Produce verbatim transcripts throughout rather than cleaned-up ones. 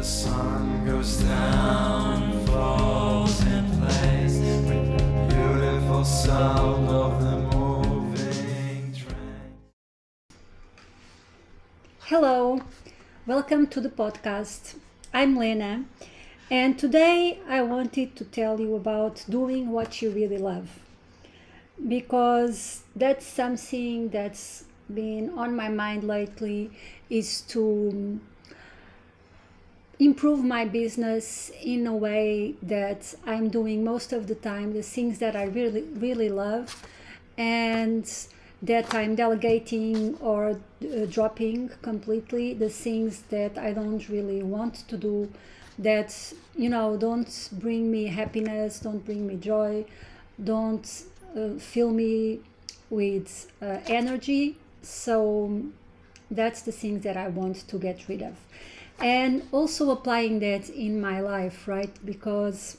the sun goes down, falls in place with the beautiful sound of the moving train. Hello, welcome to the podcast. I'm Lena, and today I wanted to tell you about doing what you really love, because that's something that's been on my mind lately, is to improve my business in a way that I'm doing most of the time the things that I really really love, and that I'm delegating or uh, dropping completely the things that I don't really want to do, that you know don't bring me happiness, don't bring me joy, don't uh, fill me with uh, energy. So that's the things that I want to get rid of, and also applying that in my life, right? Because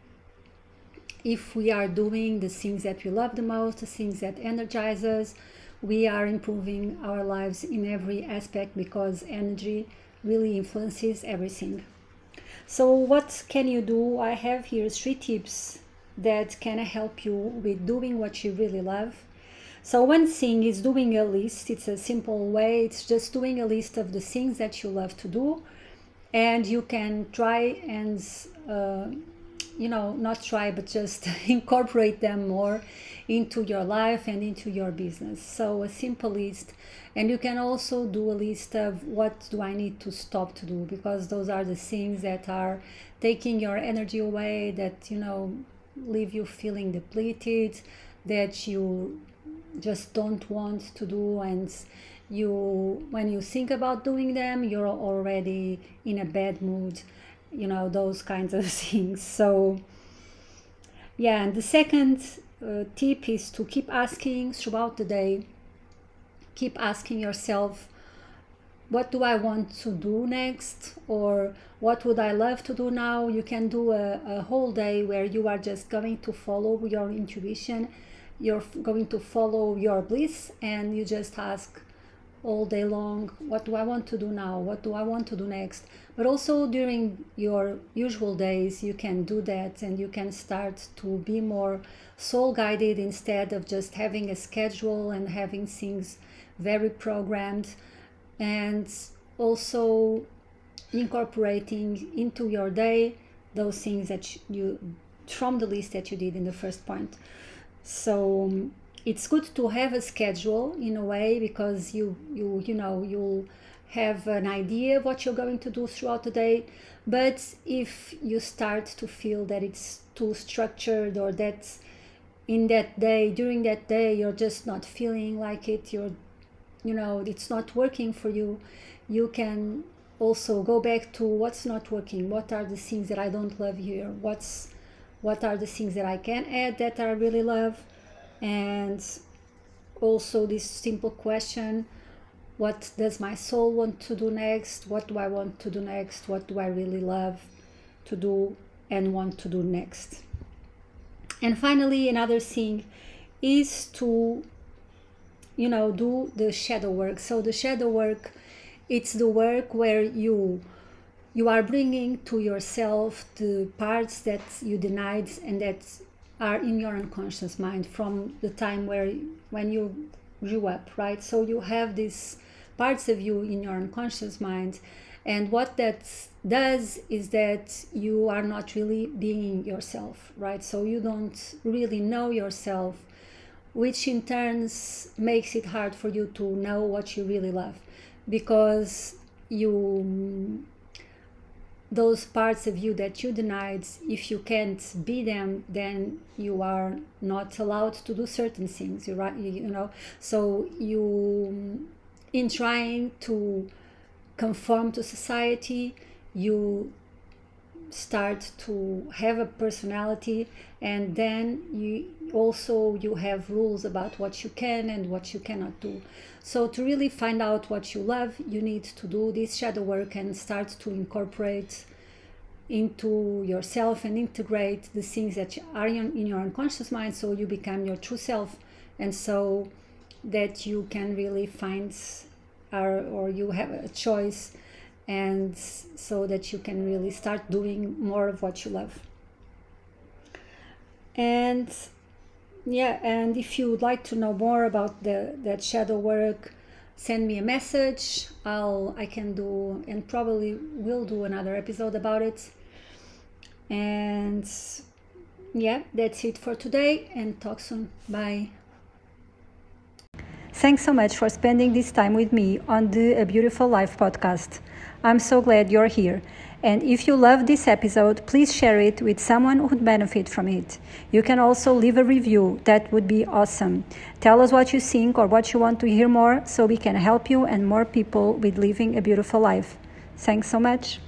if we are doing the things that we love the most, the things that energize us, we are improving our lives in every aspect, because energy really influences everything. So what can you do? I have here three tips that can help you with doing what you really love. So one thing is doing a list. It's a simple way. It's just doing a list of the things that you love to do, and you can try and uh, you know not try but just incorporate them more into your life and into your business. So a simple list. And you can also do a list of what do I need to stop to do, because those are the things that are taking your energy away, that you know leave you feeling depleted, that you just don't want to do, and you when you think about doing them, you're already in a bad mood, you know those kinds of things. So yeah, and the second uh, tip is to keep asking throughout the day. Keep asking yourself, what do I want to do next, or what would I love to do now? You can do a, a whole day where you are just going to follow your intuition, you're f- going to follow your bliss, and you just ask all day long, what do I want to do now, what do I want to do next? But also during your usual days you can do that, and you can start to be more soul guided instead of just having a schedule and having things very programmed, and also incorporating into your day those things that you from the list that you did in the first point. So um, it's good to have a schedule in a way, because you you you know you'll have an idea of what you're going to do throughout the day. But if you start to feel that it's too structured, or that in that day during that day you're just not feeling like it, you're you know it's not working for you, you can also go back to what's not working, what are the things that I don't love here, what's what are the things that I can add that I really love. And also this simple question, what does my soul want to do next, what do I want to do next, what do I really love to do and want to do next. And finally, another thing is to you know do the shadow work. So the shadow work, it's the work where you you are bringing to yourself the parts that you denied and that are in your unconscious mind from the time where when you grew up, right? So you have these parts of you in your unconscious mind, and what that does is that you are not really being yourself, right? So you don't really know yourself, which in turns makes it hard for you to know what you really love, because you those parts of you that you denied, if you can't be them, then you are not allowed to do certain things, you right you know so you, in trying to conform to society, you start to have a personality, and then you also you have rules about what you can and what you cannot do. So to really find out what you love, you need to do this shadow work and start to incorporate into yourself and integrate the things that are in your unconscious mind, so you become your true self, and so that you can really find or, or you have a choice and so that you can really start doing more of what you love. And yeah, and if you would like to know more about the that shadow work, send me a message. I'll I can do and probably will do another episode about it. And yeah, that's it for today, and talk soon. Bye. Thanks so much for spending this time with me on the A Beautiful Life podcast. I'm so glad you're here. And if you loved this episode, please share it with someone who would benefit from it. You can also leave a review. That would be awesome. Tell us what you think or what you want to hear more so we can help you and more people with living a beautiful life. Thanks so much.